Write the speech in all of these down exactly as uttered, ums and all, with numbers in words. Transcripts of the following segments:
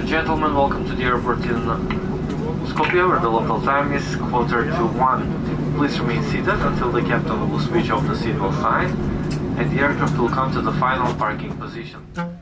and gentlemen, welcome to the airport in Skopje, where the local time is quarter to one. Please remain seated until the captain will switch off the seatbelt sign, and the aircraft will come to the final parking position.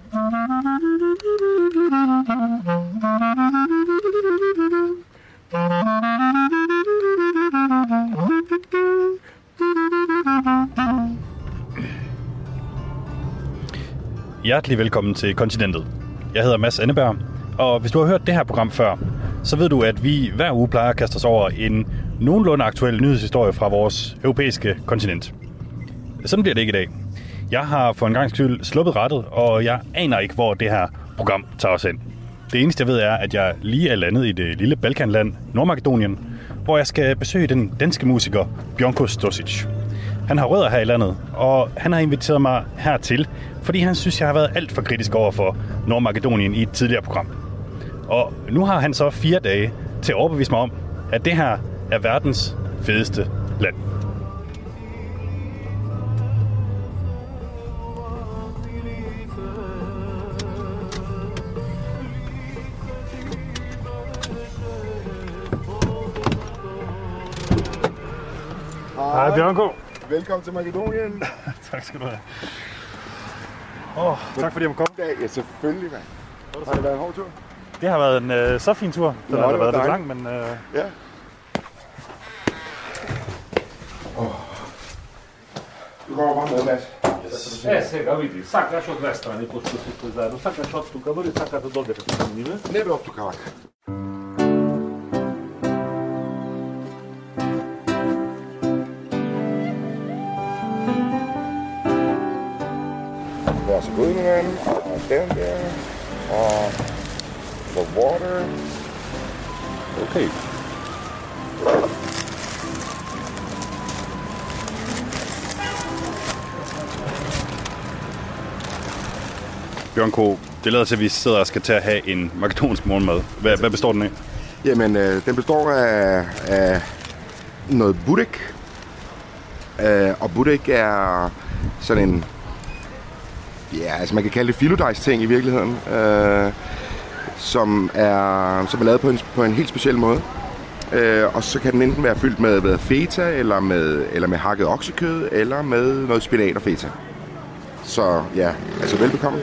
Hjertelig velkommen til Kontinentet. Jeg hedder Mads Anneberg, og hvis du har hørt det her program før, så ved du, at vi hver uge plejer at kaste os over en nogenlunde aktuel nyhedshistorie fra vores europæiske kontinent. Sådan bliver det ikke i dag. Jeg har for en gang skyld sluppet rettet, og jeg aner ikke, hvor det her program tager os hen. Det eneste, jeg ved, er, at jeg lige er landet i det lille Balkanland, Nordmakedonien, hvor jeg skal besøge den danske musiker Bjørnko Stosic. Han har rødder her i landet, og han har inviteret mig hertil, fordi han synes, jeg har været alt for kritisk over for Nordmakedonien i et tidligere program. Og nu har han så fire dage til at overbevise mig om, at det her er verdens fedeste land. Hej Bjørnko. Velkommen til Makedonien. Tak skal du have. Åh, oh, tak fordi jeg må komme. Ja, selvfølgelig, mand. Har det været en hård tur? Det har været en øh, så fin tur. Den Nå, har det været lidt dejligt. lang, men... Øh... Ja. Oh. Du kommer bare med, Mads. E, сега види, сакаш од две страни, пошто си тој заедно, сакаш од тука, дори сакаш да додеш со ниве. Не бе от тук, лак. Vær så god, min ven. Og den der. Og the water. Okay. Bjørnko, det lader til, at vi sidder og skal til at have en makedonsk morgenmad. Hvad, hvad består den af? Jamen, øh, den består af, af noget budek. Øh, og budek er sådan en... Ja, altså man kan kalde det filodejs-ting i virkeligheden. Øh, som, er, som er lavet på en, på en helt speciel måde. Øh, og så kan den enten være fyldt med, med feta, eller med, eller med hakket oksekød, eller med noget spinat og feta. Så ja, altså velbekomme.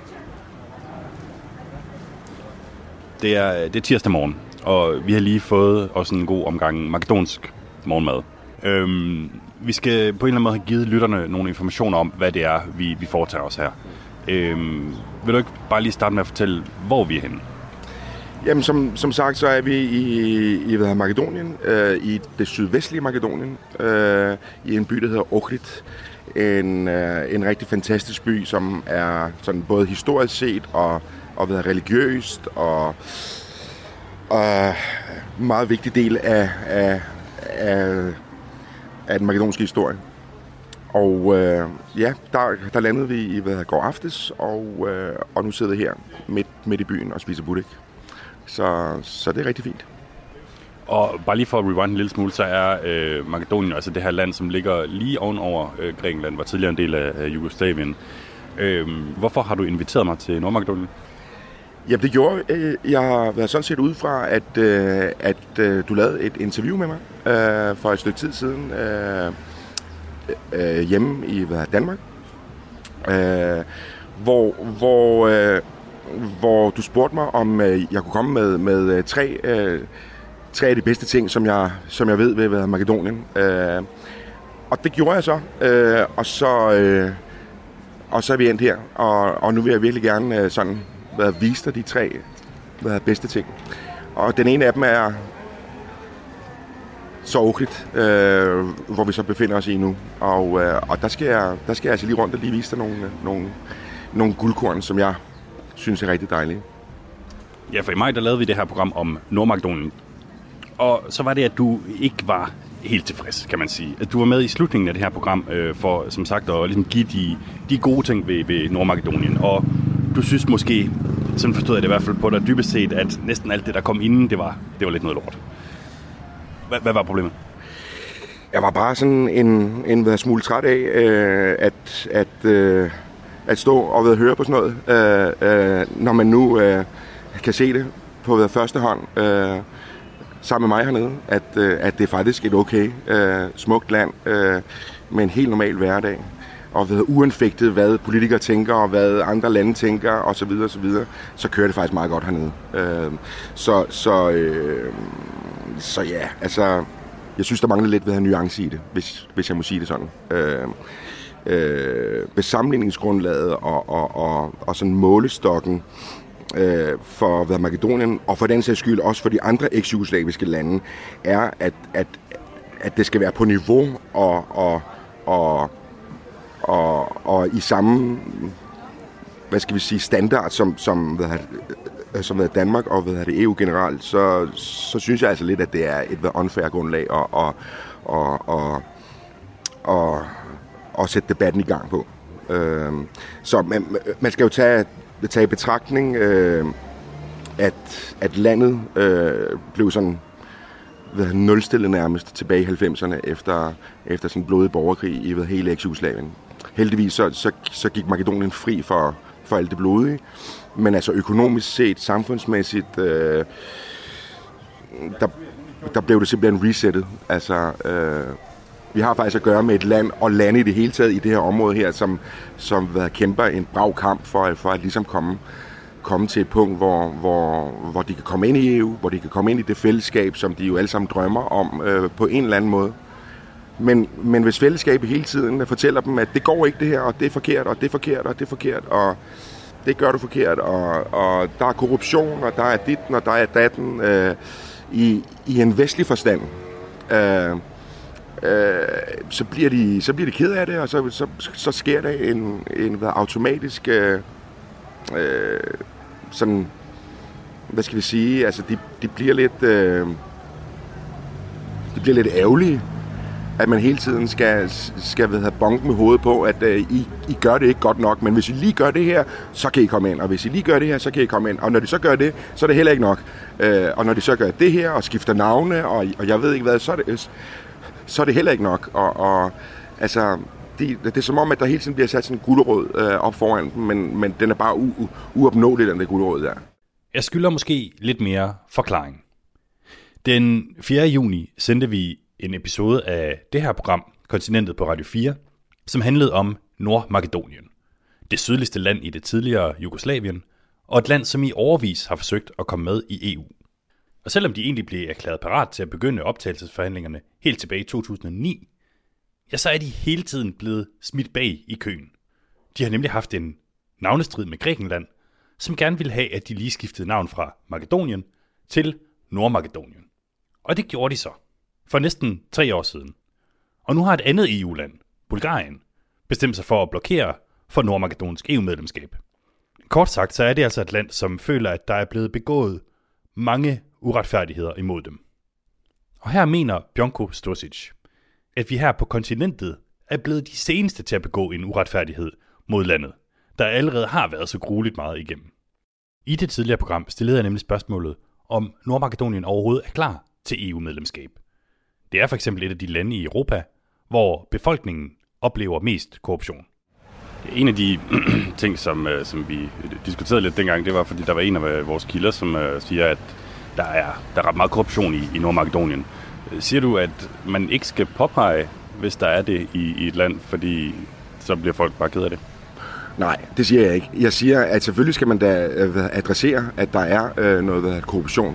Det er, det er tirsdag morgen, og vi har lige fået også en god omgang makedonsk morgenmad. Øhm, vi skal på en eller anden måde have givet lytterne nogle informationer om, hvad det er, vi, vi foretager os her. Øhm, vil du ikke bare lige starte med at fortælle, hvor vi er henne? Jamen, som, som sagt, så er vi i, i hvad, Makedonien, øh, i det sydvestlige Makedonien, øh, i en by, der hedder Ohrid. En, øh, en rigtig fantastisk by, som er sådan både historisk set og, og været religiøst og, og meget vigtig del af, af, af, af den makedonske historie. Og øh, ja, der, der landede vi i hvad går aftes, og, øh, og nu sidder vi her midt, midt i byen og spiser budek. Så, så det er rigtig fint. Og bare lige for at rewind en lille smule, så er øh, Makedonien altså det her land, som ligger lige ovenover øh, Grækenland, var tidligere en del af øh, Jugoslavien. Øh, hvorfor har du inviteret mig til Nordmakedonien? Jamen det gjorde øh, jeg. har været sådan set ud fra, at, øh, at øh, du lavede et interview med mig øh, for et stykke tid siden øh, øh, hjemme i hvad, Danmark, øh, hvor, hvor, øh, hvor du spurgte mig, om øh, jeg kunne komme med, med tre... Øh, Tre af de bedste ting, som jeg, som jeg ved ved, ved Makedonien. Øh, og det gjorde jeg så. Øh, og så øh, og så er vi endt her. Og, og nu vil jeg virkelig gerne øh, sådan, hvad, vise dig de tre hvad, bedste ting. Og den ene af dem er så Ohrid, øh, hvor vi så befinder os i nu. Og, øh, og der, skal jeg, der skal jeg altså lige rundt og lige vise dig nogle, nogle, nogle guldkorn, som jeg synes er rigtig dejlige. Ja, for i maj der lavede vi det her program om Nordmakedonien. Og så var det, at du ikke var helt tilfreds, kan man sige. At du var med i slutningen af det her program øh, for, som sagt, at ligesom give de, de gode ting ved, ved Nordmakedonien. Og du synes måske, sådan forstod jeg det i hvert fald på dig dybest set, at næsten alt det, der kom inden, det var, det var lidt noget lort. Hvad, hvad var problemet? Jeg var bare sådan en, en, en smule træt af, øh, at, at, øh, at stå og ved at høre på sådan noget, øh, øh, når man nu... Øh, kan se det på første hånd, øh, sammen med mig hernede, at, øh, at det er faktisk et okay, øh, smukt land øh, med en helt normal hverdag. Og ved uanfægtet, hvad politikere tænker, og hvad andre lande tænker, og så videre, og så videre, så kører det faktisk meget godt hernede. Øh, så, så, øh, så ja, altså, jeg synes, der mangler lidt ved at have nuance i det, hvis, hvis jeg må sige det sådan. Øh, øh, besammenligningsgrundlaget og, og, og, og sådan målestokken øh, for hvad, Makedonien, og for den sags skyld også for de andre eks-jugoslaviske lande, er, at, at, at det skal være på niveau og, og, og Og, og i samme, hvad skal vi sige, standard som, som, hvad det, som hvad Danmark og hvad det, E U generelt, så, så synes jeg altså lidt, at det er et hvad, unfair grundlag at, og, og, og, og, og sætte debatten i gang på. Øh, så man, man skal jo tage, tage i betragtning, øh, at, at landet øh, blev sådan ved, nulstillet nærmest tilbage i halvfemserne efter, efter sådan en blodig borgerkrig i ved, hele eks-Jugoslavien. Heldigvis så, så, så gik Makedonien fri for, for alt det blodige, men altså økonomisk set, samfundsmæssigt, øh, der, der blev det simpelthen resettet. Altså, øh, vi har faktisk at gøre med et land, og lande i det hele taget i det her område her, som, som hvad, kæmper en brav kamp for, for at ligesom komme, komme til et punkt, hvor, hvor, hvor de kan komme ind i E U, hvor de kan komme ind i det fællesskab, som de jo alle sammen drømmer om øh, på en eller anden måde. Men, men hvis fællesskabet hele tiden fortæller dem, at det går ikke det her, og det er forkert, og det er forkert, og det er forkert, og det gør du forkert, og, og der er korruption, og der er ditten, og der er datten, øh, i, i en vestlig forstand, øh, øh, så, bliver de, så bliver de ked af det, og så, så, så sker der en, en hvad, automatisk, øh, øh, sådan, hvad skal vi sige, altså de, de bliver lidt, øh, de bliver lidt ærgerlige, at man hele tiden skal, skal have bonken med hovedet på, at uh, I, I gør det ikke godt nok, men hvis I lige gør det her, så kan I komme ind, og hvis I lige gør det her, så kan I komme ind, og når de så gør det, så er det heller ikke nok. Uh, og når de så gør det her, og skifter navne, og, og jeg ved ikke hvad, så er det, så er det heller ikke nok. Og, og altså, det, det er som om, at der hele tiden bliver sat sådan en gulerod uh, op foran dem, men, men den er bare u, u, uopnåelig, den der gulerod der. Jeg skylder måske lidt mere forklaring. Den fjerde juni sendte vi en episode af det her program, Kontinentet på Radio fire, som handlede om Nordmakedonien. Det sydligste land i det tidligere Jugoslavien, og et land, som i årevis har forsøgt at komme med i E U. Og selvom de egentlig blev erklæret parat til at begynde optagelsesforhandlingerne helt tilbage i to tusind og ni, ja, så er de hele tiden blevet smidt bag i køen. De har nemlig haft en navnestrid med Grækenland, som gerne ville have, at de lige skiftede navn fra Makedonien til Nordmakedonien. Og det gjorde de så. For næsten tre år siden. Og nu har et andet E U-land, Bulgarien, bestemt sig for at blokere for nordmakedonsk E U-medlemskab. Kort sagt, så er det altså et land, som føler, at der er blevet begået mange uretfærdigheder imod dem. Og her mener Bjonko Stosic, at vi her på kontinentet er blevet de seneste til at begå en uretfærdighed mod landet, der allerede har været så grueligt meget igennem. I det tidligere program stillede jeg nemlig spørgsmålet, om Nordmakedonien overhovedet er klar til E U-medlemskab. Det er for eksempel et af de lande i Europa, hvor befolkningen oplever mest korruption. En af de ting, som, som vi diskuterede lidt dengang, det var, fordi der var en af vores kilder, som uh, siger, at der er, der er ret meget korruption i, i Nordmakedonien. Siger du, at man ikke skal påpege, hvis der er det i, i et land, fordi så bliver folk bare ked af det? Nej, det siger jeg ikke. Jeg siger, at selvfølgelig skal man da adressere, at der er øh, noget korruption.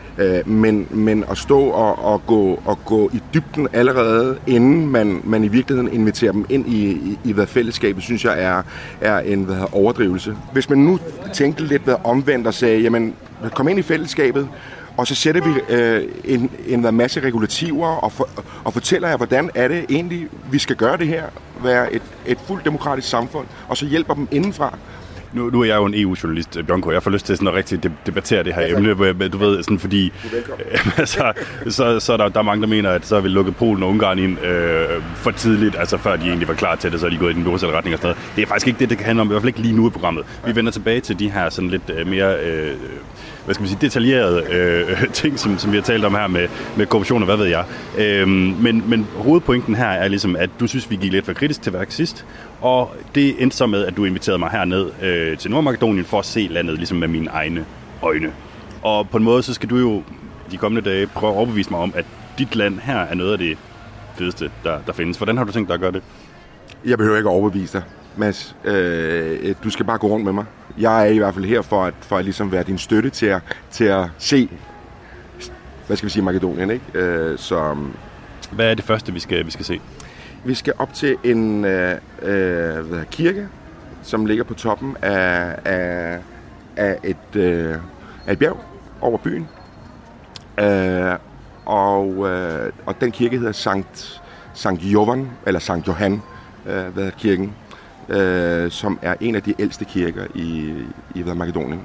Men, men at stå og, og, gå, og gå i dybden allerede, inden man, man i virkeligheden inviterer dem ind i, i, i hvad fællesskabet, synes jeg er, er en hvad, overdrivelse. Hvis man nu tænkte lidt hvad, omvendt og sagde, jamen kom ind i fællesskabet, og så sætter vi øh, en, en masse regulativer og, for, og fortæller jer, hvordan er det egentlig, vi skal gøre det her, være et, et fuldt demokratisk samfund, og så hjælper dem indenfra. Nu, nu er jeg jo en E U-journalist, Bjonko. Jeg får lyst til sådan at rigtig debattere det her ja, emne, hvor jeg, du ved, sådan fordi øh, altså, så, så er der, der er mange, der mener, at så har vi lukket Polen og Ungarn ind øh, for tidligt, altså før de egentlig var klar til det, så er de gået i den modsatte retning og sådan noget. Det er faktisk ikke det, det kan handle om, i hvert fald ikke lige nu i programmet. Vi vender tilbage til de her sådan lidt øh, mere øh, hvad skal man sige, detaljerede øh, ting, som, som vi har talt om her med, med korruption og hvad ved jeg. Øh, men, men hovedpointen her er ligesom, at du synes, vi gik lidt for kritisk til værk sidst, og det endte så med, at du inviterede mig herned øh, til Nordmakedonien for at se landet ligesom med mine egne øjne. Og på en måde, så skal du jo de kommende dage prøve at overbevise mig om, at dit land her er noget af det fedeste, der, der findes. Hvordan har du tænkt dig at gøre det? Jeg behøver ikke at overbevise dig, Mads. Øh, du skal bare gå rundt med mig. Jeg er i hvert fald her for at, for at ligesom være din støtte til at, til at se, hvad skal vi sige, Makedonien, ikke? Øh, så, hvad er det første, vi skal, vi skal se? Vi skal op til en øh, øh, hvad, kirke, som ligger på toppen af, af, af, et, øh, af et bjerg over byen. Øh, og, øh, og den kirke hedder Sankt, Sankt Jovan, eller Sankt Johan, øh, hvad kirken, øh, som er en af de ældste kirker i, i hvad, Makedonien.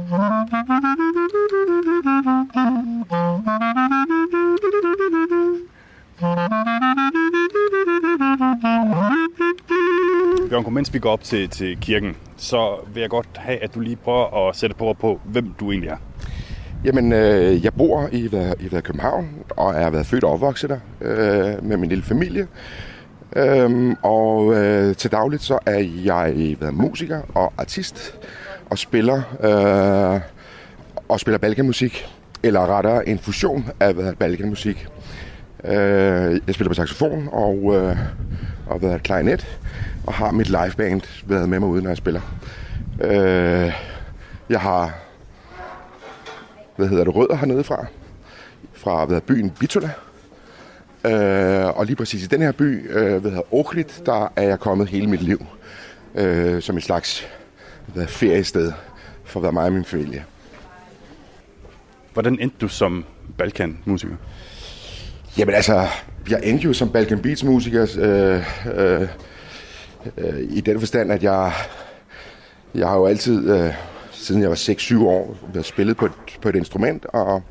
Bjørnko, mens vi går op til, til kirken, så vil jeg godt have, at du lige prøver at sætte på, på hvem du egentlig er. Jamen, øh, jeg bor i, hvad, i hvad, København, og er været født og opvokset der øh, med min lille familie. Øhm, og øh, til dagligt så er jeg hvad, musiker og artist, og spiller, øh, og spiller balkanmusik, eller rettere en fusion af hvad, balkanmusik. Øh, jeg spiller på saxofon og, øh, og hvad, klarinet, og har mit liveband været med mig ude, når jeg spiller. Øh, jeg har hvad hedder det, rødder hernede fra, fra hvad, byen Bitola. Øh, og lige præcis i den her by, øh, hvad hedder Ohrid, der er jeg kommet hele mit liv. Øh, som et slags hvad, feriested for hvad, mig og min familie. Hvordan endte du som Balkan-musiker? Jamen altså, jeg endte jo som Balkan Beats-musiker øh, øh, øh, i den forstand, at jeg, jeg har jo altid, øh, siden jeg var seks syv år, været spillet på et, på et instrument, og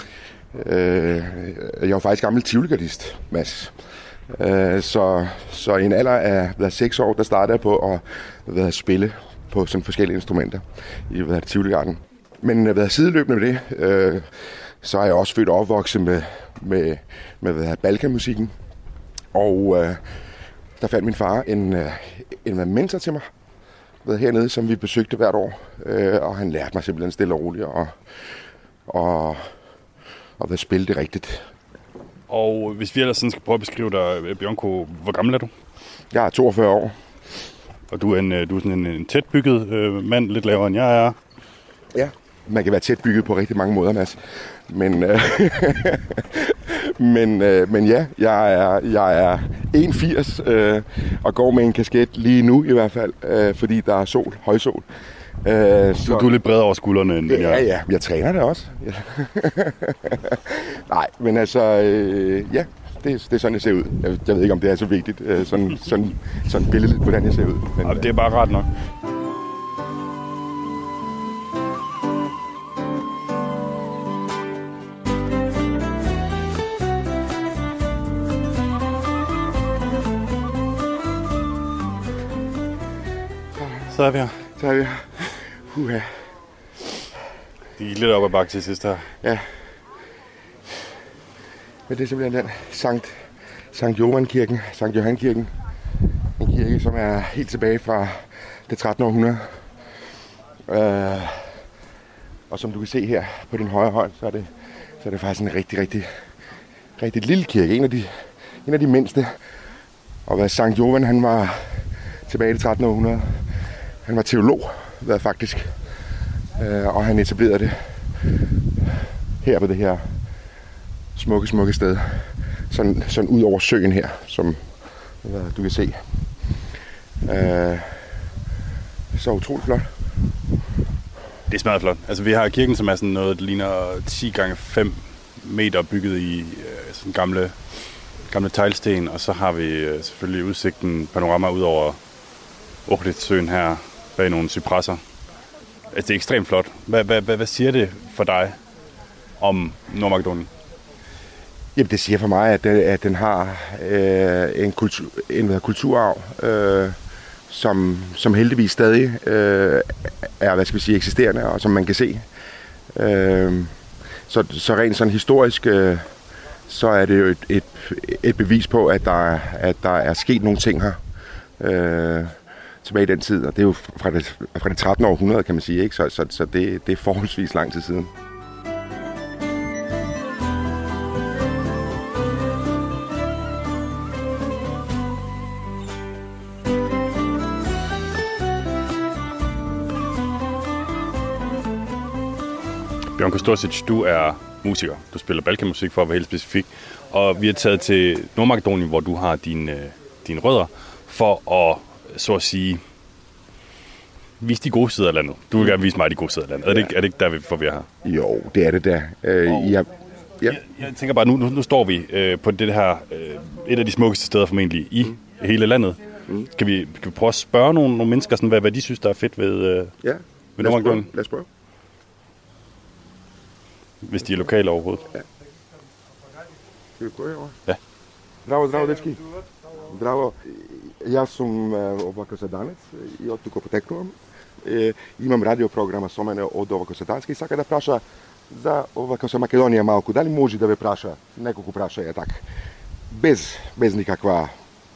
øh, jeg var faktisk gammel tivoli-gardist, Mads. Øh, så, så i en alder af hvad, seks år, der startede jeg på at hvad, spille på sådan forskellige instrumenter i hvad, tivoli-garden. Men hvad, sideløbende med det, øh, så er jeg også født og opvokset med, med, med hvad, balkanmusikken. Og øh, der fandt min far en, øh, en mentor til mig hvad, hernede, som vi besøgte hvert år. Øh, og han lærte mig simpelthen stille og roligt og, og, og hvad, spille det rigtigt. Og hvis vi ellers sådan skal prøve at beskrive dig, Bjørnko, hvor gammel er du? Jeg er toogfyrre år. Og du er, en, du er sådan en, en tætbygget øh, mand, lidt lavere end jeg er. Ja, man kan være tæt bygget på rigtig mange måder, Mads. Men, øh, men, øh, men ja, jeg er, jeg er en komma firs øh, og går med en kasket lige nu i hvert fald, øh, fordi der er sol, højsol. Øh, så du er lidt bredere over skuldrene end ja, jeg. Ja, ja, jeg træner det også. Nej, men altså, øh, ja, det, det er sådan, jeg ser ud. Jeg, jeg ved ikke, om det er så vigtigt, øh, sådan, sådan, sådan billedet, hvordan jeg ser ud. Men, ja, det er bare ret nok. Så er vi her. Så er vi her. Uha. Det gik lidt op ad bakke til sidst her. Ja. Men det er simpelthen den Sankt, Sankt Johan-kirken, Sankt Johan-kirken. En kirke, som er helt tilbage fra det trettende århundrede. Øh, og som du kan se her på din højre hånd, så er det, så er det faktisk en rigtig, rigtig, rigtig lille kirke. En af de, en af de mindste. Og hvad Sankt Johan, han var tilbage i det trettende århundrede. Han var teolog, hvad faktisk. Øh, og han etablerede det her på det her smukke, smukke sted. Sådan, sådan ud over søen her, som hvad, du kan se. Øh, så utroligt flot. Det er smadret flot. Altså vi har kirken, som er sådan noget, der ligner ti gange fem meter bygget i øh, sådan gamle, gamle teglsten. Og så har vi øh, selvfølgelig udsigten panorama ud over Ohrid-søen her bag nogle cypresser. Altså det er ekstremt flot. Hvad, hvad, hvad, hvad siger det for dig om Nordmakedonien? Jamen det siger for mig, at, det, at den har øh, en, kultur, en hvad, kulturarv, øh, som, som heldigvis stadig øh, er, hvad skal vi sige, eksisterende, og som man kan se. Øh, så, så rent sådan historisk, øh, så er det jo et, et, et bevis på, at der, at der er sket nogle ting her. Øh, tilbage i den tid, og det er jo fra det, fra det trettende århundrede, kan man sige, ikke? Så, så, så det, det er forholdsvis lang tid siden. Bjørn Kostosic, du er musiker. Du spiller Balkanmusik for at være helt specifik. Og vi er taget til Nordmakedonien, hvor du har dine, dine rødder, for at, så at sige, vise de gode sider af landet. Du vil gerne vise mig de gode sider af landet. Er det ikke, er det ikke der, hvor vi er her? Jo, det er det der. Øh, jeg, ja. jeg, jeg tænker bare, nu, nu, nu står vi øh, på det her, øh, et af de smukkeste steder formentlig i mm. hele landet. Mm. Kan, vi, kan vi prøve at spørge nogle, nogle mennesker, sådan, hvad, hvad de synes, der er fedt ved, øh, ja. ved Nordmakedonien? Lad os prøve. Hvis de er lokale overhovedet. Ja. Skal vi prøve herovre? Ja. Zdravo, zdravo, dečki. Zdravo. Ja sam ovako-sedanec i od tuko poteknuo. E, imam radioprograma so mene od ovako-sedanske i sad kada praša za ovako-se Makedonija malku, da li može da ve praša, nekog praša je tak, bez, bez nikakva...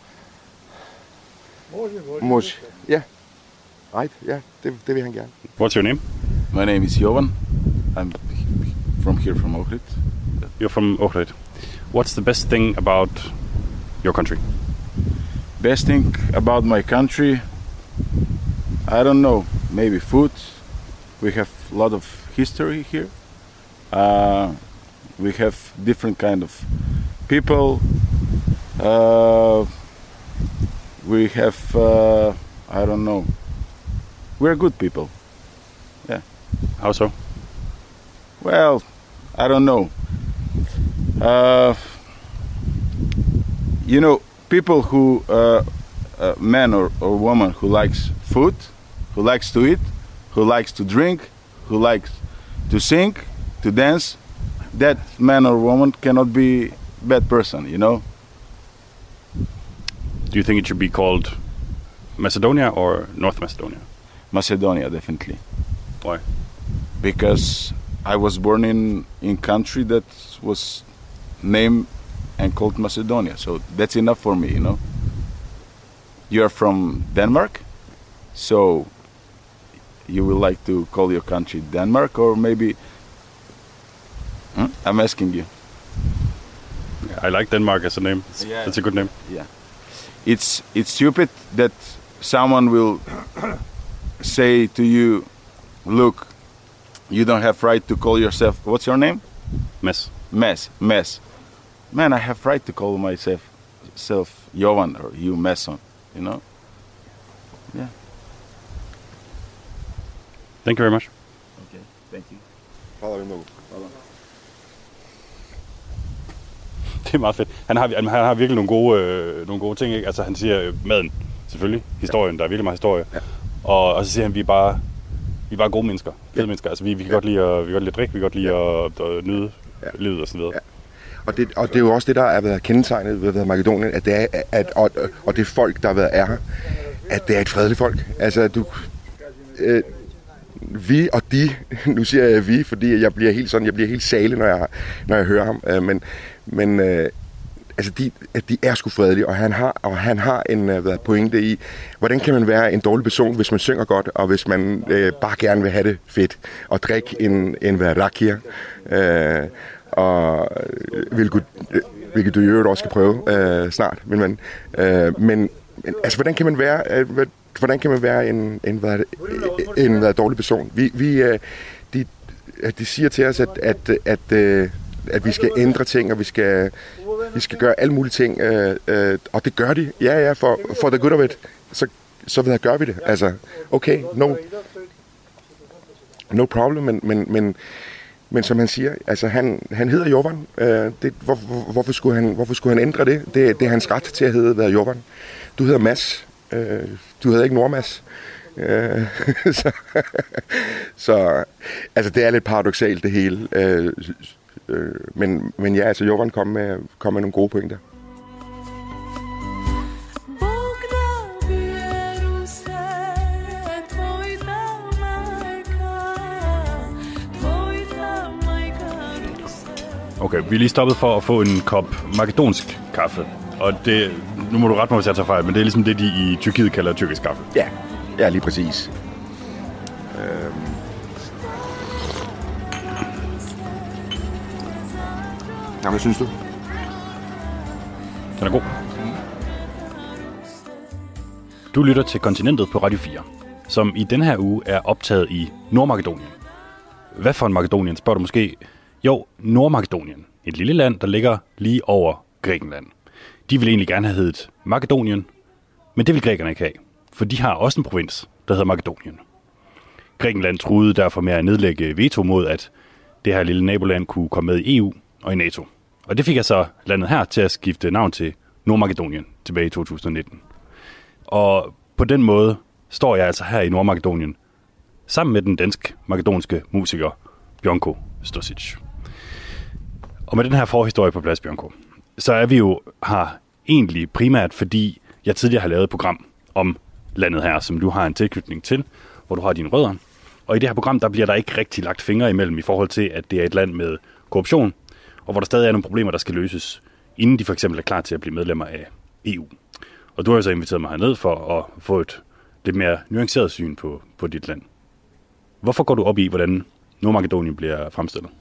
Može, može. Može, ja. Ajde, ja, det, det vil han gerne. What's your name? My name is Jovan. I'm from here, from Ohrid. You're from Ohrid. What's the best thing about your country? Best thing about my country, I don't know, maybe food. We have a lot of history here. Uh, we have different kind of people. Uh, we have, uh, I don't know, we're good people. Yeah. How so? Well, I don't know. Uh, you know, people who, uh, uh, man or, or woman who likes food, who likes to eat, who likes to drink, who likes to sing, to dance, that man or woman cannot be bad person, you know? Do you think it should be called Macedonia or North Macedonia? Macedonia, definitely. Why? Because I was born in in country that was named and called Macedonia, so that's enough for me, you know. You are from Denmark, so you will like to call your country Denmark, or maybe hmm? I'm asking you. I like Denmark as a name. It's, Yeah. it's a good name. Yeah, it's it's stupid that someone will say to you, look, you don't have right to call yourself, what's your name? Mess. Mess, mess. Man, I have right to call myself self Jovan or you Messon, you know? Yeah. Thank you very much. Okay, thank you. Hvala vi mnogo. Det er meget fedt. Han har, han har virkelig nogle gode, øh, nogle gode ting, ikke? Altså han siger øh, maden, selvfølgelig, historien, ja. Der er virkelig meget historie. Ja. Og, og så siger han, vi er bare, vi er bare gode mennesker, fede ja. mennesker. Altså vi, vi kan ja. godt lide at, vi kan godt lide at drikke, vi kan godt lide ja. at, at nyde ja. livet og så videre. Ja. Og det, og det er jo også det, der er været kendetegnet ved Makedonien, at det er, at, og, og det folk, der har været er her, at det er et fredeligt folk. Altså du... Øh, vi og de, nu siger jeg vi, fordi jeg bliver helt sådan, jeg bliver helt sale, når jeg, når jeg hører ham, øh, men, men øh, altså de, de er sgu fredelige, og han har, og han har en hvad, pointe i, hvordan kan man være en dårlig person, hvis man synger godt, og hvis man øh, bare gerne vil have det fedt, og drikke en, en hvad, rakia, øh, og hvilket, hvilket du i øvrigt også skal prøve øh, snart, men, men, øh, men, men altså hvordan kan man være, øh, hvordan kan man være en, en, hvad, en hvad, dårlig person? Vi, vi, øh, de, de siger til os, at, at, at, øh, at vi skal ændre ting, og vi skal, vi skal gøre alle mulige ting, øh, øh, og det gør de, ja ja, for, for the good of it, så, så hvad, gør vi det, altså, okay, no, no problem, men, men, men Men som han siger, altså han, han hedder Jovan. Øh, det, hvor, hvor, hvorfor, skulle han, hvorfor skulle han ændre det? det? Det er hans ret til at hedde være Jovan. Du hedder Mads. Øh, du hedder ikke Nordmads. Øh, så, så altså det er lidt paradoksalt det hele. Øh, øh, men, men ja, altså Jovan kom med, kom med nogle gode pointer. Okay, vi er lige stoppet for at få en kop makedonsk kaffe. Og det, nu må du rette mig, hvis jeg tager fejl, men det er ligesom det, de i Tyrkiet kalder tyrkisk kaffe. Ja, ja, lige præcis. Øhm. Ja, hvad synes du? Den er god. Du lytter til Kontinentet på Radio fire, som i denne her uge er optaget i Nordmakedonien. Hvad for en Makedonien, spørger du måske? Jo, Nordmakedonien. Et lille land, der ligger lige over Grækenland. De vil egentlig gerne have heddet Makedonien, men det vil grækerne ikke have, for de har også en provins, der hedder Makedonien. Grækenland truede derfor med at nedlægge veto mod, at det her lille naboland kunne komme med i E U og i NATO. Og det fik jeg så landet her til at skifte navn til Nordmakedonien tilbage i to tusind nitten. Og på den måde står jeg altså her i Nordmakedonien sammen med den dansk-makedonske musiker Bjonko Stosic. Og med den her forhistorie på plads, Bjonko, så er vi jo her egentlig primært, fordi jeg tidligere har lavet et program om landet her, som du har en tilknytning til, hvor du har dine rødder. Og i det her program, der bliver der ikke rigtig lagt fingre imellem i forhold til, at det er et land med korruption, og hvor der stadig er nogle problemer, der skal løses, inden de for eksempel er klar til at blive medlemmer af E U. Og du har jo så inviteret mig herned for at få et lidt mere nuanceret syn på, på dit land. Hvorfor går du op i, hvordan Nordmakedonien bliver fremstillet?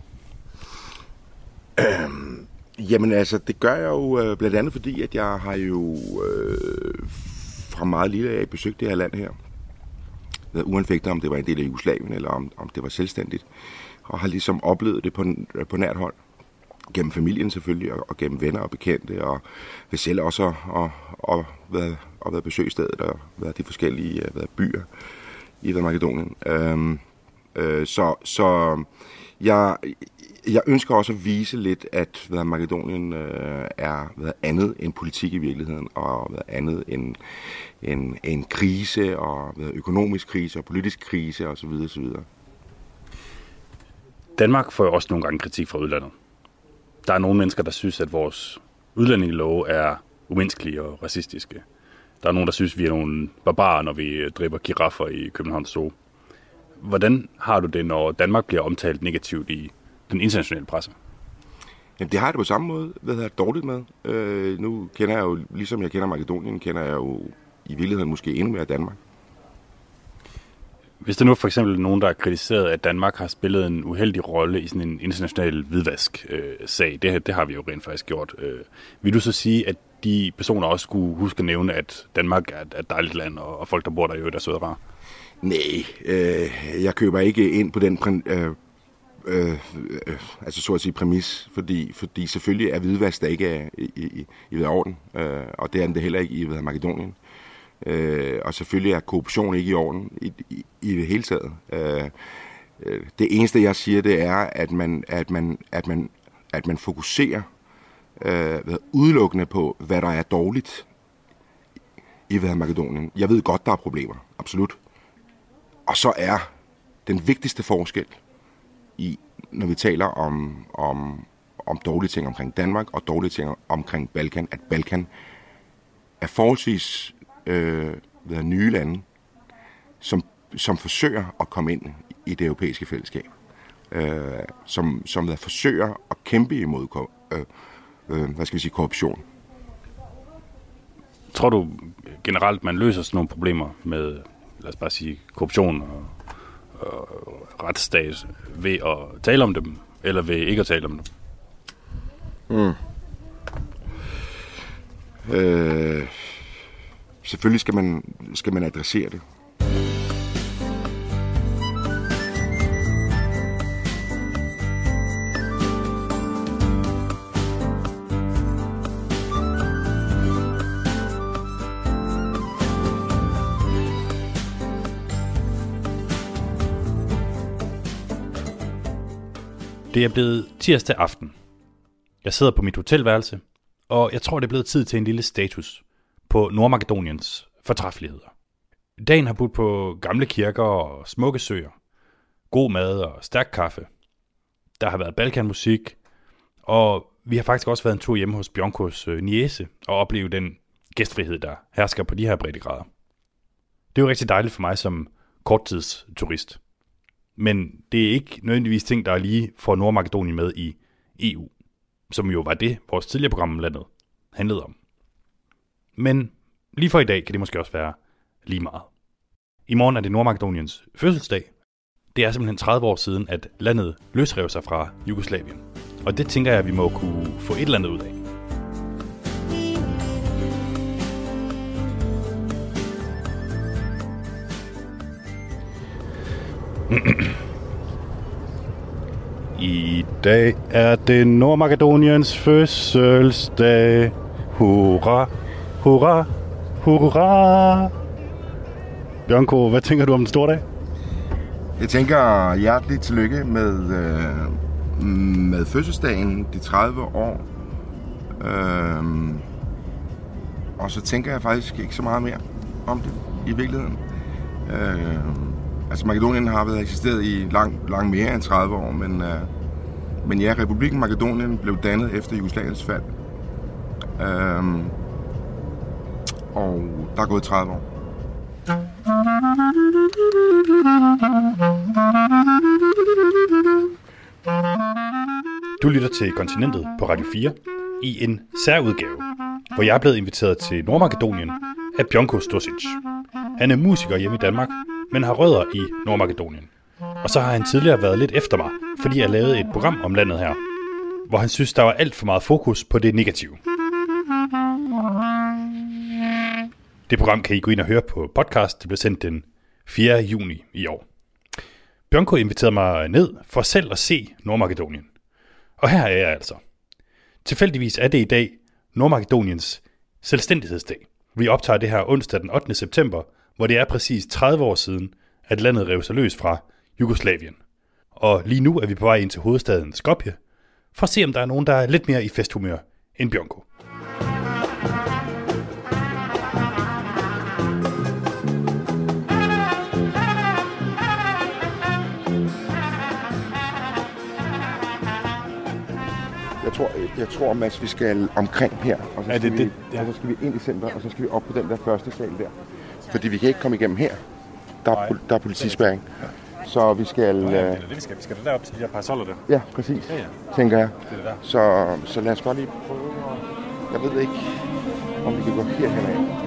Øhm, jamen altså, det gør jeg jo øh, blandt andet fordi, at jeg har jo øh, fra meget lille af besøgt det her land her. Uanfægtet om det var en del af Jugoslavien, eller om, om det var selvstændigt. Og har ligesom oplevet det på, på nært hold. Gennem familien selvfølgelig, og, og gennem venner og bekendte, og ved selv også at og, og været, og været besøgsstedet, og været de forskellige været byer i Makedonien. Øhm, øh, så så jeg, jeg ønsker også at vise lidt, at hvad, Makedonien øh, er hvad, andet end politik i virkeligheden, og hvad, andet end en, en krise, og hvad, økonomisk krise, og politisk krise, osv. osv. Danmark får jo også nogle gange kritik fra udlandet. Der er nogle mennesker, der synes, at vores udlændingelove er umenneskelige og racistiske. Der er nogen, der synes, vi er nogle barbarer, når vi driver giraffer i Københavns Zoo. Hvordan har du det, når Danmark bliver omtalt negativt i den internationale presse? Jamen, det har jeg det på samme måde, hvad jeg dårligt med. Øh, nu kender jeg jo, ligesom jeg kender Makedonien, kender jeg jo i virkeligheden måske endnu mere Danmark. Hvis der nu for eksempel nogen, der har kritiseret, at Danmark har spillet en uheldig rolle i sådan en international hvidvask-sag, øh, det, det har vi jo rent faktisk gjort. Øh, vil du så sige, at de personer også skulle huske at nævne, at Danmark er et dejligt land, og, og folk, der bor der, jo er søde og rare? Nej, øh, jeg køber ikke ind på den øh, øh, øh, altså så at sige præmis, fordi, fordi selvfølgelig er hvidvask der ikke er i, i, i orden, øh, og det er det heller ikke i Makedonien. Øh, og selvfølgelig er korruption ikke i orden i, i, i det hele taget. Øh, det eneste jeg siger, det er, at man, at man, at man, at man fokuserer øh, udelukkende på, hvad der er dårligt i Makedonien. Jeg ved godt, der er problemer, absolut. Og så er den vigtigste forskel i, når vi taler om, om, om dårlige ting omkring Danmark og dårlige ting omkring Balkan, at Balkan er forholdsvis Øh, nye lande, som, som forsøger at komme ind i det europæiske fællesskab. Øh, som, som der forsøger at kæmpe imod øh, øh, hvad skal vi sige, korruption. Tror du generelt, man løser sådan nogle problemer med, lad os bare sige, korruption og, og retsstat ved at tale om dem, eller ved ikke at tale om dem? Mm. Øh... Selvfølgelig skal man, skal man adressere det. Det er blevet tirsdag aften. Jeg sidder på mit hotelværelse, og jeg tror, det er blevet tid til en lille status på Nordmakedoniens fortræffeligheder. Dagen har budt på gamle kirker og smukke søer, god mad og stærk kaffe. Der har været balkanmusik, og vi har faktisk også været en tur hjemme hos Bjonkos niece og opleve den gæstfrihed, der hersker på de her breddegrader. Det er jo rigtig dejligt for mig som korttidsturist. Men det er ikke nødvendigvis ting, der er lige får Nordmakedonien med i E U, som jo var det, vores tidligere program om landet handlede om. Men lige for i dag kan det måske også være lige meget. I morgen er det Nordmakedoniens fødselsdag. Det er simpelthen tredive år siden, at landet løsrev sig fra Jugoslavien. Og det tænker jeg, at vi må kunne få et eller andet ud af. I dag er det Nordmakedoniens fødselsdag. Hurra, hurra, hurra. Bjørnko, hvad tænker du om den store dag? Jeg tænker hjerteligt tillykke med, øh, med fødselsdagen, de tredive år. Øh, og så tænker jeg faktisk ikke så meget mere om det i virkeligheden. Øh, altså Makedonien har været eksisteret i langt lang mere end tredive år, men, øh, men ja, Republikken Makedonien blev dannet efter Jugoslaviens fald. Øh, og der er gået tredive år. Du lytter til Kontinentet på Radio fire i en særudgave, hvor jeg er blevet inviteret til Nordmakedonien af Bjørnko Stosic. Han er musiker hjemme i Danmark, men har rødder i Nordmakedonien. Og så har han tidligere været lidt efter mig, fordi jeg lavede et program om landet her, hvor han synes, der var alt for meget fokus på det negative. Det program kan I gå ind og høre på podcast. Det blev sendt den fjerde juni i år. Bjørnko inviterede mig ned for selv at se Nordmakedonien. Og her er jeg altså. Tilfældigvis er det i dag Nordmakedoniens selvstændighedsdag. Vi optager det her onsdag den ottende september, hvor det er præcis tredive år siden, at landet rev sig løs fra Jugoslavien. Og lige nu er vi på vej ind til hovedstaden Skopje, for at se om der er nogen, der er lidt mere i festhumør end Bjørnko. Jeg tror, jeg tror, Mads, vi skal omkring her, og så, ja, skal, det, vi, det, ja. og så skal vi ind i center, og så skal vi op på den der første sal der. Fordi vi kan ikke komme igennem her. Der er, der er politispærring. Så vi skal... Ja, det er det, vi skal. Vi skal derop til de her parasoller der. Ja, præcis, ja, ja. tænker jeg. Det er det der. Så, så lad os godt lige prøve. Jeg ved ikke, om vi kan gå herhen af.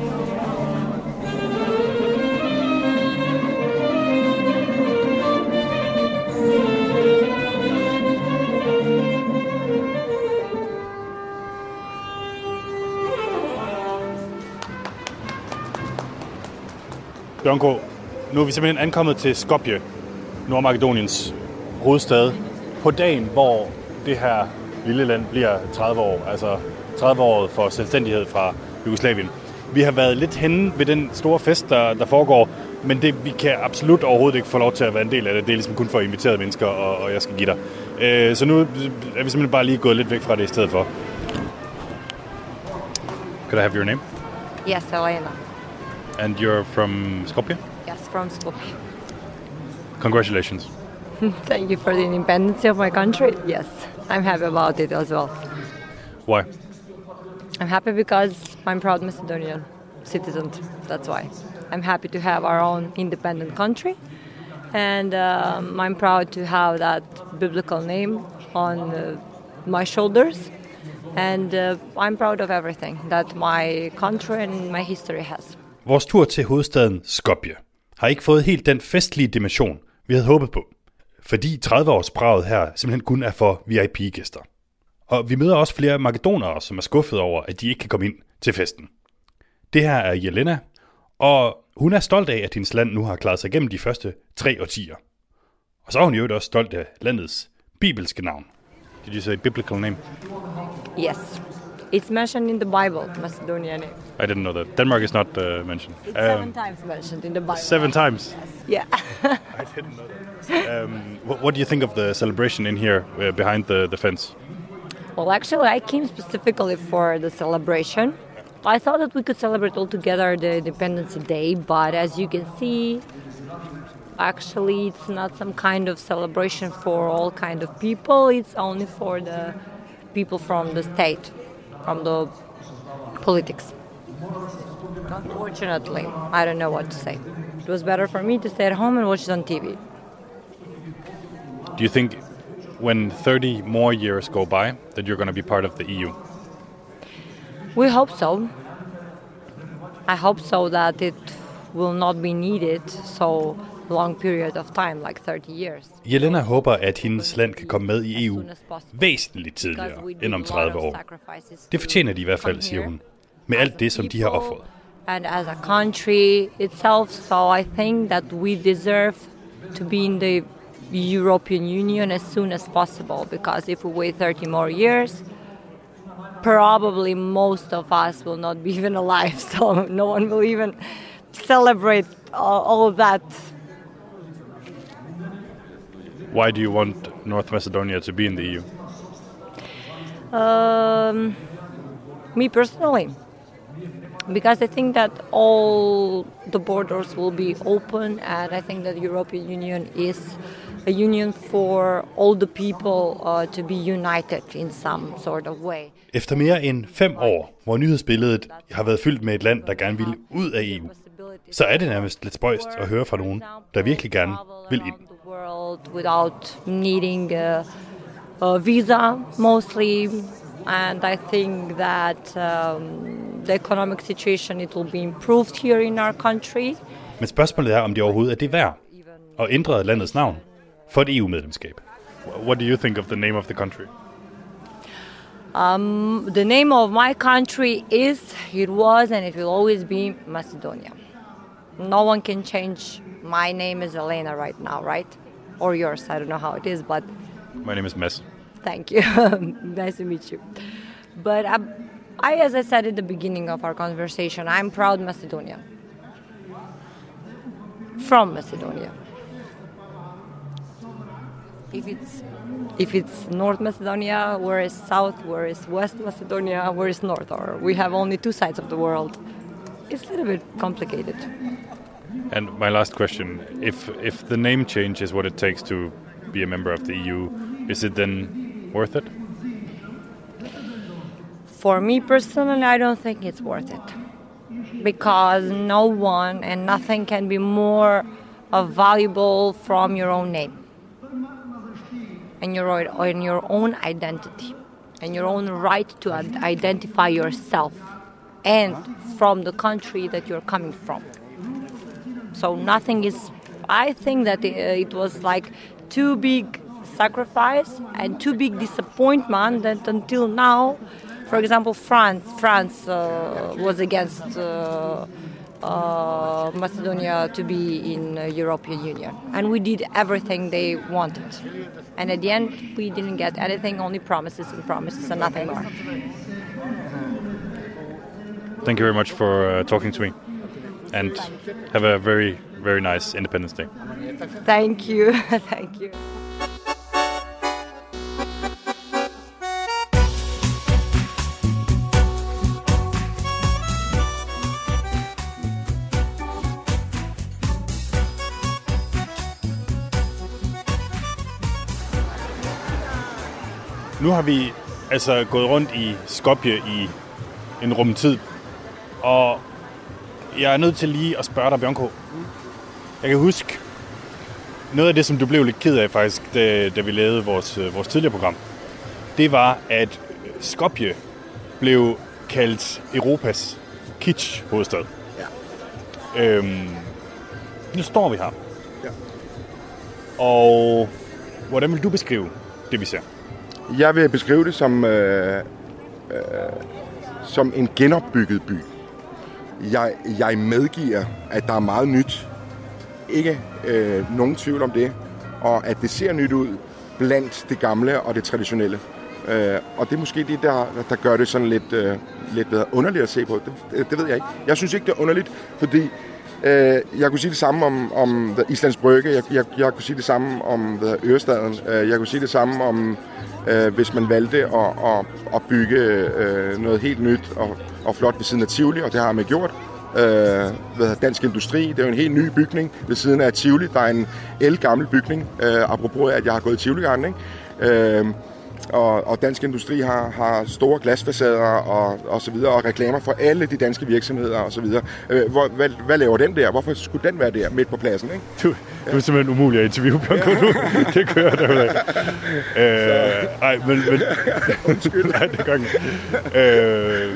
Bjørnko, nu er vi simpelthen ankommet til Skopje, Nordmakedoniens hovedstad, på dagen, hvor det her lille land bliver tredive år, altså tredive år for selvstændighed fra Jugoslavien. Vi har været lidt henne ved den store fest, der, der foregår, men det, vi kan absolut overhovedet ikke få lov til at være en del af det. Det er ligesom kun for inviterede mennesker, og, og jeg skal give dig. Øh, så nu er vi simpelthen bare lige gået lidt væk fra det i stedet for. Could I have your name? Yes, Elena. And you're from Skopje? Yes, from Skopje. Congratulations. Thank you for the independence of my country. Yes, I'm happy about it as well. Why? I'm happy because I'm proud Macedonian citizen. That's why. I'm happy to have our own independent country. And um, I'm proud to have that biblical name on uh, my shoulders. And uh, I'm proud of everything that my country and my history has. Vores tur til hovedstaden Skopje har ikke fået helt den festlige dimension, vi havde håbet på. Fordi tredive-årsbraget her simpelthen kun er for V I P-gæster. Og vi møder også flere makedonere, som er skuffet over, at de ikke kan komme ind til festen. Det her er Jelena, og hun er stolt af, at hendes land nu har klaret sig igennem de første tre årtier. Og så er hun jo også stolt af landets bibelske navn. Did you say biblical name? Yes. It's mentioned in the Bible, Macedonia name. I didn't know that. Denmark is not uh, mentioned. It's um, seven times mentioned in the Bible. Seven times? Yeah. I didn't know that. Um, what, what do you think of the celebration in here uh, behind the, the fence? Well, actually, I came specifically for the celebration. I thought that we could celebrate all together the Independence Day, but as you can see, actually, it's not some kind of celebration for all kind of people. It's only for the people from the state, from the politics. Unfortunately, I don't know what to say. It was better for me to stay at home and watch it on T V. Do you think when thirty more years go by that you're going to be part of the E U? We hope so. I hope so that it will not be needed so long period of time, like thirty years. Jelena håber, at hendes land kan komme med i E U væsentligt tidligere end om tredive år. Det fortjener de i hvert fald, siger hun, med alt det, som de har offret. And as a country itself, so I think that we deserve to be in the European Union as soon as possible, because if we wait thirty more years, probably most of us will not be even alive, so no one will even celebrate all, all of that. Why do you want North Macedonia to be in the E U? Um, me personally, because I think that all the borders will be open, and I think that the European Union is a union for all the people uh, to be united in some sort of way. Efter mere end fem år, hvor nyhedsbilledet har været fyldt med et land, der gerne vil ud af E U, så er det nærmest lidt spøjst at høre fra nogen, der virkelig gerne vil ind. Without needing a, a visa, mostly, and I think that um, the economic situation it will be improved here in our country. Men spørgsmålet er, om det overhovedet er det værd at ændre landets navn for et E U-medlemskab. What do you think of the name of the country? Um, the name of my country is, it was, and it will always be Macedonia. No one can change. My name is Elena right now, right? Or yours, I don't know how it is, but... My name is Mads. Thank you. Nice to meet you. But I, I, as I said at the beginning of our conversation, I'm proud Macedonia. From Macedonia. If it's if it's North Macedonia, where is South, where is West Macedonia, where is North, or we have only two sides of the world. It's a little bit complicated. And my last question, if if the name change is what it takes to be a member of the E U, is it then worth it? For me personally, I don't think it's worth it. Because no one and nothing can be more uh, valuable from your own name. And your, and your own identity. And your own right to identify yourself. And from the country that you're coming from. So nothing is, I think that it, it was like too big sacrifice and too big disappointment that until now, for example, France, France uh, was against uh, uh, Macedonia to be in the European Union. And we did everything they wanted. And at the end, we didn't get anything, only promises and promises and nothing more. Thank you very much for uh, talking to me. And have a very, very nice Independence Day. Thank you. Thank you. Nu har vi altså gået rundt i Skopje i en rumtid, og jeg er nødt til lige at spørge dig, Bjørnko. Jeg kan huske noget af det, som du blev lidt ked af faktisk, da, da vi lavede vores, vores tidligere program. Det var, at Skopje blev kaldt Europas kitsch-hovedstad. Ja. Øhm, nu står vi her. Ja. Og hvordan vil du beskrive det, vi ser? Jeg vil beskrive det som, øh, øh, som en genopbygget by. Jeg, jeg medgiver, at der er meget nyt. Ikke øh, nogen tvivl om det. Og at det ser nyt ud blandt det gamle og det traditionelle. Øh, og det er måske det, der, der gør det sådan lidt, øh, lidt underligt at se på. Det, det ved jeg ikke. Jeg synes ikke, det er underligt, fordi øh, jeg kunne sige det samme om, om Islands Brygge. Jeg, jeg, jeg kunne sige det samme om Ørestaden. Jeg kunne sige det samme om, øh, hvis man valgte at, at, at bygge øh, noget helt nyt og, og flot ved siden af Tivoli, og det har man gjort. Øh, Dansk Industri, det er jo en helt ny bygning ved siden af Tivoli. Der er en ældgammel bygning, øh, apropos at jeg har gået i Tivoli-garden, ikke? Øh, og, og Dansk Industri har, har store glasfacader og, og så videre, og reklamer for alle de danske virksomheder og så videre. Øh, hvor, hvad, hvad laver den der? Hvorfor skulle den være der midt på pladsen, ikke? Du, du er simpelthen umulig at interviewe, Bjørnko. Ja. Det kører derudad. øh, nej, men... men Undskyld. Nej, det gør ikke. Øh,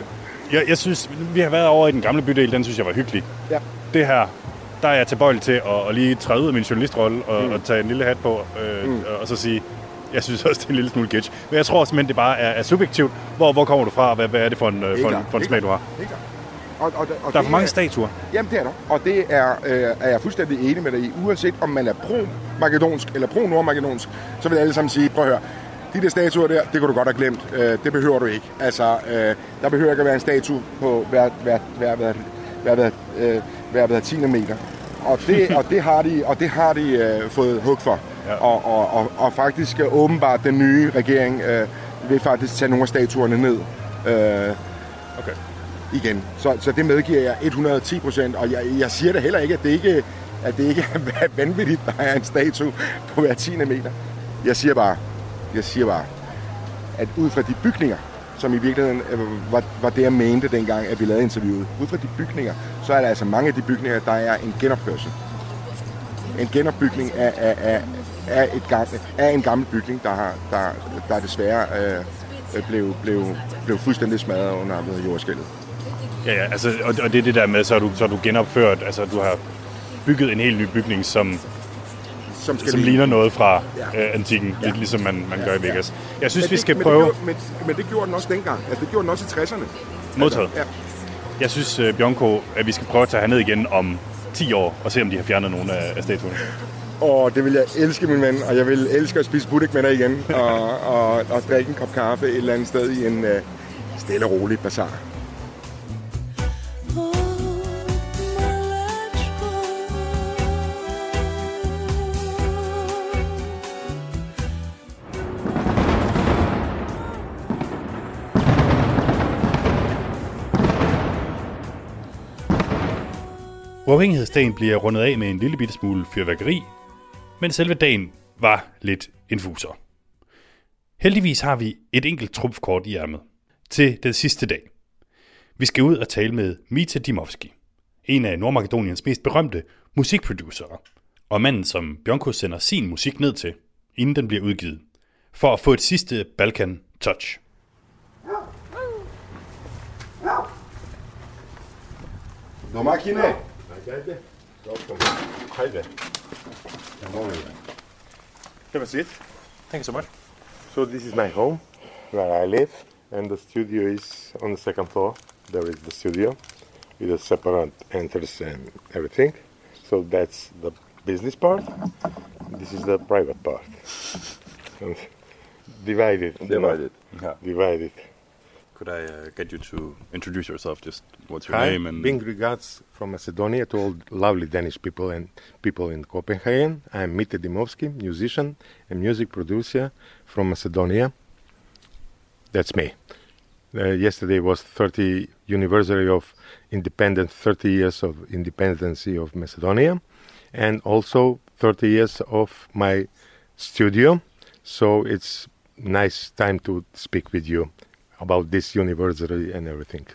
Jeg, jeg synes, vi har været over i den gamle bydel, den synes jeg var hyggelig. Ja. Det her, der er jeg tilbøjelig til at, at lige træde ud af min journalistrolle og, mm. og tage en lille hat på, øh, mm. og så sige, jeg synes også, det er en lille smule kitsch. Men jeg tror simpelthen, det bare er, er subjektivt. Hvor, hvor kommer du fra, og hvad, hvad er det for en, for en, for en smag, du har? Og, og, og der er for mange er, statuer. Jamen, det er der. Og det er, øh, er jeg fuldstændig enig med dig i. Uanset om man er pro-makedonsk eller pro-nordmakedonsk, så vil alle sammen sige, prøv at høre, de der statuer der, det kunne du godt have glemt. Øh, det behøver du ikke. Altså, øh, der behøver ikke at være en statue på hver, hver, hver, hver, hver, hver, øh, hver, hver tiende meter. Og det, og det har de, og det har de øh, fået hug for. Ja. Og, og, og, og faktisk øh, åbenbart den nye regering øh, vil faktisk tage nogle af statuerne ned. Øh, okay. Igen. Så, så det medgiver jeg et hundrede og ti procent, og jeg, jeg siger da heller ikke, at det ikke, at det ikke er vanvittigt, der er en statue på hver tiende meter. Jeg siger bare, jeg siger bare, at ud fra de bygninger, som i virkeligheden øh, var, var det, jeg mente dengang, at vi lavede interviewet, ud fra de bygninger, så er der altså mange af de bygninger, der er en genopførsel. En genopbygning af, af, af, af, et gamle, af en gammel bygning, der, har, der, der desværre øh, blev, blev, blev fuldstændig smadret under jordskælvet. Ja, ja, altså, og, og det er det der med, så er du, så er du genopført, altså du har bygget en helt ny bygning, som, som, som ligner noget fra ja. øh, antikken, ja. lidt ligesom man, man ja, gør i Vegas. Jeg synes, det, vi skal men prøve... Det gjorde, men, men det gjorde den også dengang, altså det gjorde den også i tresserne. Modtaget. Ja. Jeg synes, uh, Bjørnko, at vi skal prøve at tage herned igen om ti år, og se om de har fjernet nogle af, af statuerne. Og det vil jeg elske, min ven, og jeg vil elske at spise budik med dig igen, og, og, og drikke en kop kaffe et eller andet sted i en uh, stille og rolig bazar. Uafhængighedsdagen bliver rundet af med en lille bitte smule fyrværkeri, men selve dagen var lidt infuser. Heldigvis har vi et enkelt trumfkort i ærmet til den sidste dag. Vi skal ud og tale med Mita Dimovski, en af Nordmakedoniens mest berømte musikproducere, og manden, som Bjørnko sender sin musik ned til, inden den bliver udgivet, for at få et sidste Balkan touch. Domakine. Hajde. Hajde. Have a seat. Thank you so much. So this is my home, where I live, and the studio is on the second floor. There is the studio with a separate entrance and everything. So that's the business part. This is the private part. Divided. Divided. Yeah. Divided. Could I uh, get you to introduce yourself? Just what's your Hi, name? And big regards from Macedonia to all lovely Danish people and people in Copenhagen. I'm Mita Dimovski, musician and music producer from Macedonia. That's me. Uh, yesterday was thirtieth anniversary of independence, thirty years of independence of Macedonia, and also thirty years of my studio. So it's nice time to speak with you about this anniversary and everything.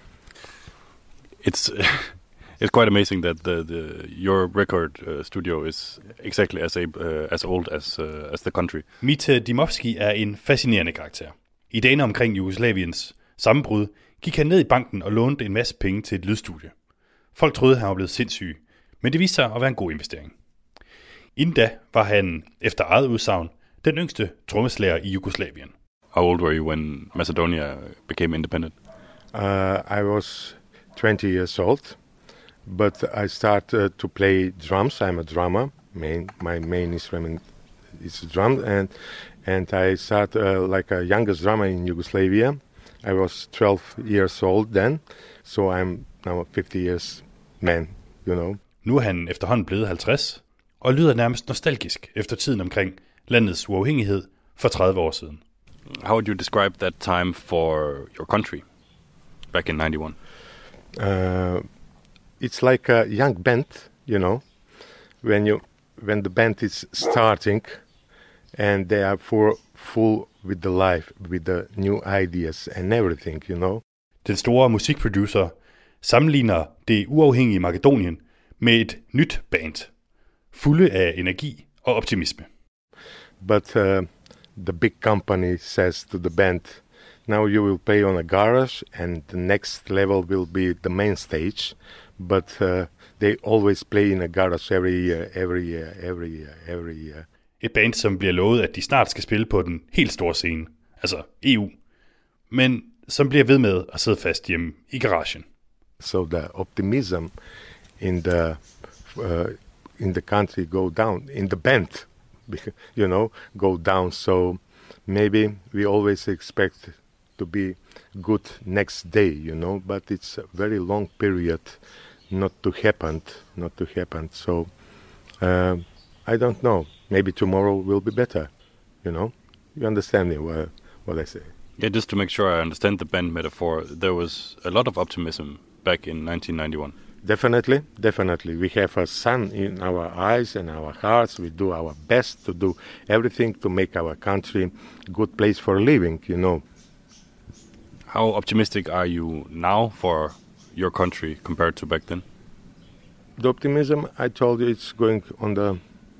It's it's quite amazing that the, the your record uh, studio is exactly as a, uh, as old as uh, as the country. Mita Dimovski er en fascinerende karakter. I dagene omkring Jugoslaviens sammenbrud gik han ned i banken og lånte en masse penge til et lydstudie. Folk troede, han var blevet sindssyg, men det viste sig at være en god investering. Inden da var han, efter eget udsagn, den yngste trommeslager i Jugoslavien. How old were you when Macedonia became independent? Uh, I was twenty years old, but I started to play drums. I'm a drummer. Main, my main instrument is drum, and and I started uh, like a youngest drummer in Yugoslavia. I was twelve years old then, so I'm now a fifty years man, you know. Nu er han efterhånden blevet halvtreds, og lyder nærmest nostalgisk efter tiden omkring landets uafhængighed for tredive år siden. How would you describe that time for your country back in ninety-one? Uh, it's like a young band, you know, when you when the band is starting, and they are for full with the life, with the new ideas and everything, you know. Den store musikproducer sammenligner det uafhængige Makedonien med et nyt band, fulde af energi og optimisme. But uh, the big company says to the band, Now you will play on a garage, and the next level will be the main stage. But uh, they always play in a garage every year, every year, every year, every year. Et band, som bliver lovet, at de snart skal spille på den helt store scene, altså E U, men som bliver ved med at sidde fast hjemme i garagen. So the optimism in the uh, in the country go down, in the band, you know, go down. So maybe we always expect to be good next day, you know, but it's a very long period not to happen, not to happen. So uh, I don't know. Maybe tomorrow will be better, you know. You understand me what, what I say? Yeah, just to make sure I understand the band metaphor, there was a lot of optimism back in nineteen ninety-one. Definitely, definitely. We have a sun in our eyes and our hearts. We do our best to do everything to make our country a good place for living, you know. How optimistic are you now for your country compared to back then? The optimism, I told you, it's going on the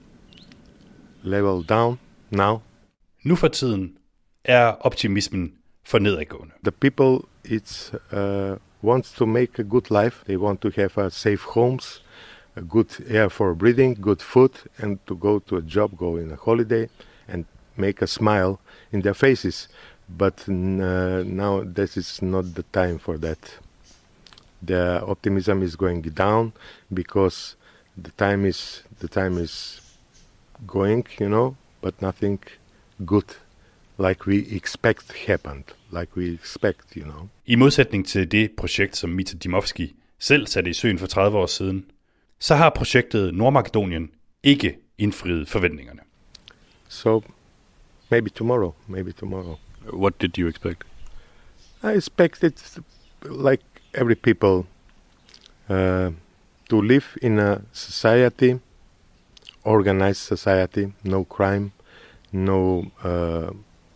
level down now. Nu for tiden er optimismen for nedadgående. The people, it's uh, wants to make a good life. They want to have a safe homes, a good air for breathing, good food, and to go to a job, go in a holiday, and make a smile in their faces. But uh, now this is not the time for that. The optimism is going down because the time is the time is going, you know, but nothing good like we expect happened, like we expect, you know. I modsætning til det projekt, som Mita Dimovski selv satte i søen for tredive år siden, så har projektet Nordmakedonien ikke indfriet forventningerne. So maybe tomorrow, maybe tomorrow. What did you expect? I expected, like every people, uh, to live in a society, organized society, no crime, no uh,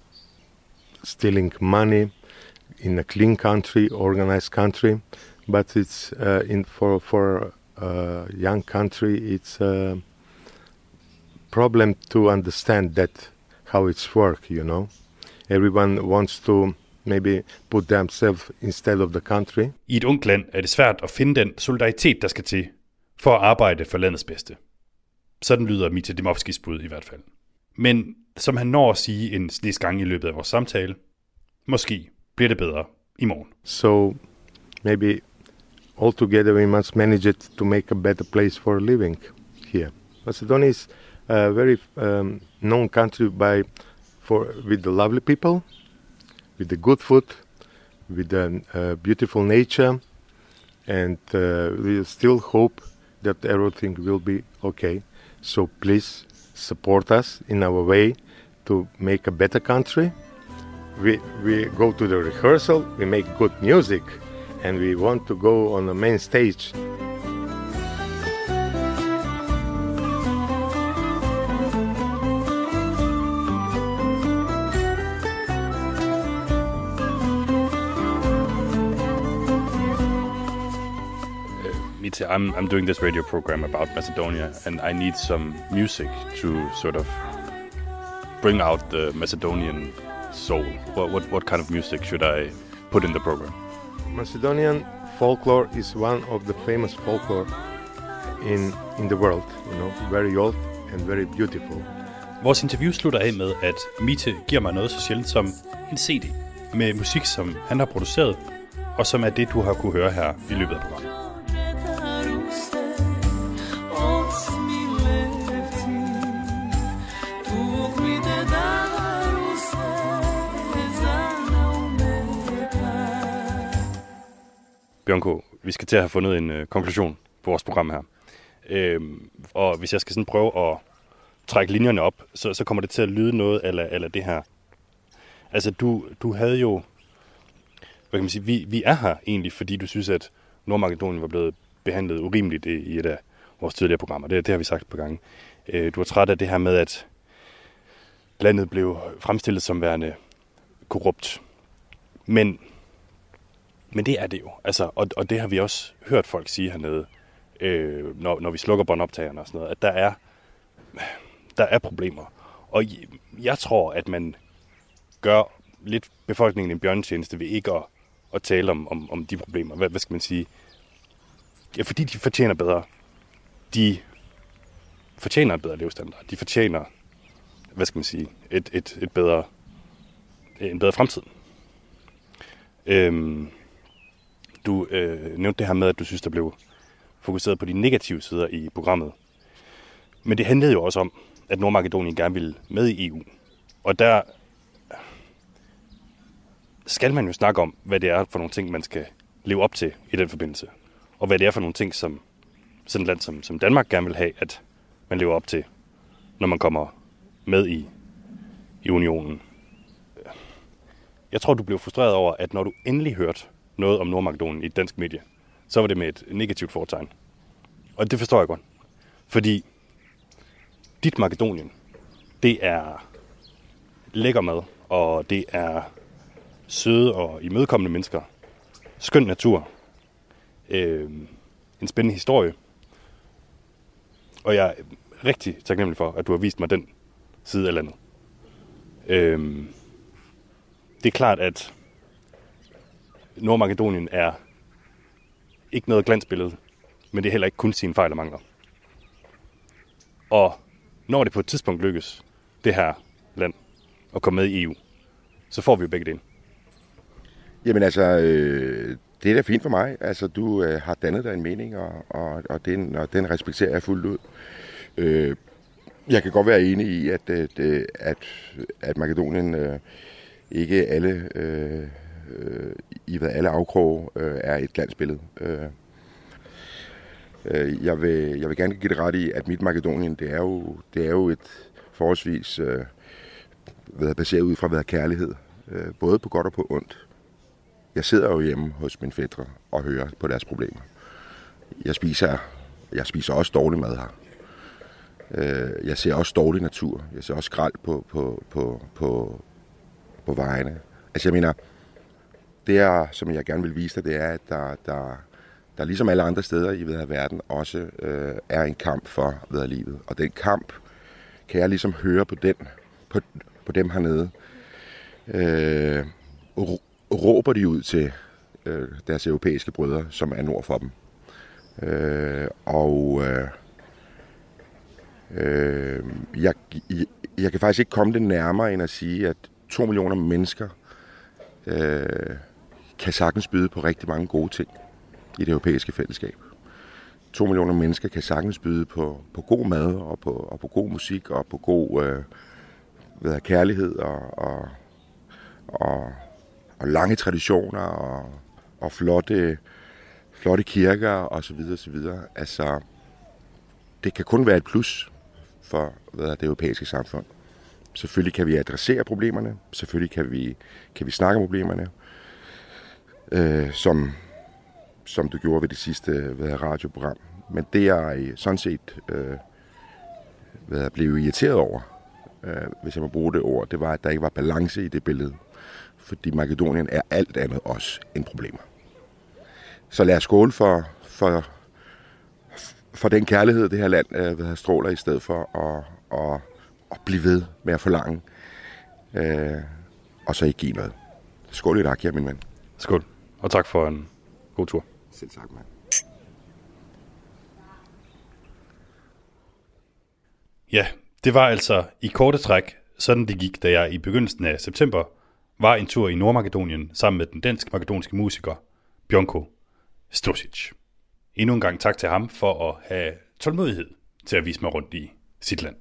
stealing money, in a clean country, organized country. But it's uh, in for for a young country, it's a problem to understand that how it's work, you know. Everyone wants to maybe put themselves instead of the country. I et ungt land er det svært at finde den solidaritet, der skal til for at arbejde for landets bedste. Sådan lyder Mita Dimovskis bud i hvert fald. Men som han når at sige en snes gange i løbet af vores samtale, måske bliver det bedre i morgen. So maybe altogether we must manage it to make a better place for living here. Macedonia is a very um, known country by for with the lovely people, with the good food, with the uh, beautiful nature, and uh, we still hope that everything will be okay. So please support us in our way to make a better country. We we go to the rehearsal, we make good music, and we want to go on the main stage. I'm, I'm doing this radio program about Macedonia, and I need some music to sort of bring out the Macedonian soul. What, what, what kind of music should I put in the program? Macedonian folklore is one of the famous folklore in, in the world, you know, very old and very beautiful. Vores interview slutter af med, at Mite giver mig noget så sjældent som en C D med musik, som han har produceret, og som er det, du har kunne høre her i løbet af programmet. Bjørnko, vi skal til at have fundet en øh, konklusion på vores program her. Øhm, og hvis jeg skal sådan prøve at trække linjerne op, så, så kommer det til at lyde noget eller eller det her. Altså, du, du havde jo... Hvad kan man sige? Vi, vi er her egentlig, fordi du synes, at Nordmakedonien var blevet behandlet urimeligt i, i et af vores tidligere programmer. Det, det har vi sagt på gange. Øh, du er træt af det her med, at landet blev fremstillet som værende korrupt. Men... Men det er det jo, altså, og, og det har vi også hørt folk sige hernede, øh, når, når vi slukker båndoptagerne og sådan noget, at der er, der er problemer. Og jeg tror, at man gør lidt befolkningen en bjørnetjeneste ved ikke at, at tale om, om, om de problemer. Hvad, hvad skal man sige? Ja, fordi de fortjener bedre. De fortjener en bedre levestandard. De fortjener, hvad skal man sige, et, et, et bedre, en bedre fremtid. Øhm, du øh, nævnte det her med, at du synes, der blev fokuseret på de negative sider i programmet. Men det handlede jo også om, at Nordmakedonien gerne ville med i E U. Og der skal man jo snakke om, hvad det er for nogle ting, man skal leve op til i den forbindelse. Og hvad det er for nogle ting, som sådan et land som, som Danmark gerne vil have, at man lever op til, når man kommer med i, i unionen. Jeg tror, du blev frustreret over, at når du endelig hørte noget om Nordmakedonien i et dansk medie, så var det med et negativt fortegn. Og det forstår jeg godt. Fordi dit Makedonien, det er lækker mad, og det er søde og imødekommende mennesker. Skøn natur. Øh, en spændende historie. Og jeg er rigtig taknemmelig for, at du har vist mig den side af landet. Øh, det er klart, at Nordmakedonien er ikke noget glansbillede, men det er heller ikke kun sine fejl og mangler. Og når det på et tidspunkt lykkes, det her land, at komme med i E U, så får vi jo begge det ind. Jamen altså, øh, det er da fint for mig. Altså, du øh, har dannet dig en mening, og, og, og, den, og den respekterer jeg fuldt ud. Øh, jeg kan godt være enig i, at, at, at, at Makedonien øh, ikke alle, øh, øh, i hvad alle afkroge øh, er et glansbillede. Øh, øh, jeg, vil, jeg vil gerne give det ret i, at mit Makedonien, det er jo, det er jo et forholdsvis øh, hvad baseret ud fra hvad kærlighed, øh, både på godt og på ondt. Jeg sidder jo hjemme hos mine fætre og hører på deres problemer. Jeg spiser, jeg spiser også dårlig mad her. Øh, jeg ser også dårlig natur. Jeg ser også skrald på, på, på, på, på vejene. Altså jeg mener, det er, som jeg gerne vil vise dig, det er, at der, der, der ligesom alle andre steder i ved verden også øh, er en kamp for ved livet. Og den kamp kan jeg ligesom høre på den, på, på dem hernede. Øh, råber de ud til øh, deres europæiske brødre, som er nord for dem. Øh, og øh, øh, jeg, jeg, jeg kan faktisk ikke komme det nærmere end at sige, at to millioner mennesker øh, kan sagtens byde på rigtig mange gode ting i det europæiske fællesskab. To millioner mennesker kan sagtens byde på, på god mad og på, og på god musik og på god øh, hvad, kærlighed og, og, og og lange traditioner og, og flotte, flotte kirker og så videre, så videre. Altså, det kan kun være et plus for hvad, det europæiske samfund. Selvfølgelig kan vi adressere problemerne, selvfølgelig kan vi, kan vi snakke om problemerne, øh, som, som du gjorde ved det sidste hvad, radioprogram. Men det jeg sådan set øh, hvad, blev irriteret over, øh, hvis jeg må bruge det ord, det var, at der ikke var balance i det billede. Fordi Makedonien er alt andet også end problemer. Så lad os skåle for, for, for den kærlighed, det her land øh, stråler, i stedet for at, at, at blive ved med at forlange, øh, og så ikke give noget. Skål i Rakia, min ven. Skål, og tak for en god tur. Selv tak, mand. Ja, det var altså i korte træk, sådan det gik, da jeg i begyndelsen af september var en tur i Nordmakedonien sammen med den dansk-makedonske musiker Bjørnko Stosic. Endnu en gang tak til ham for at have tålmodighed til at vise mig rundt i sit land.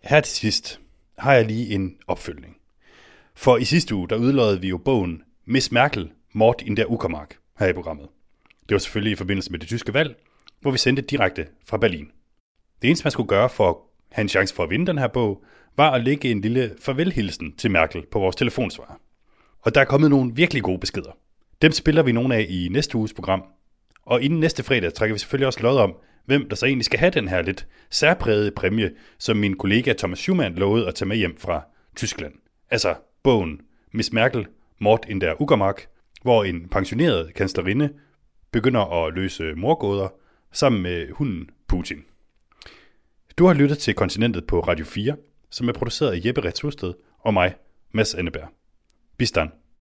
Her til sidst har jeg lige en opfølgning. For i sidste uge, der udlodede vi jo bogen Miss Merkel, Mord in der Uckermark her i programmet. Det var selvfølgelig i forbindelse med det tyske valg, hvor vi sendte direkte fra Berlin. Det eneste, man skulle gøre for at have en chance for at vinde den her bog, var at lægge en lille farvelhilsen til Merkel på vores telefonsvarer. Og der er kommet nogle virkelig gode beskeder. Dem spiller vi nogle af i næste uges program. Og inden næste fredag trækker vi selvfølgelig også lod om, hvem der så egentlig skal have den her lidt særprægede præmie, som min kollega Thomas Schumann lovede at tage med hjem fra Tyskland. Altså bogen Miss Merkel, Mord in der Uckermark, hvor en pensioneret kanslerinde begynder at løse mordgåder sammen med hunden Putin. Du har lyttet til Kontinentet på Radio fire, som er produceret af Jeppe Retz Husted og mig, Mads Anneberg. Bistan.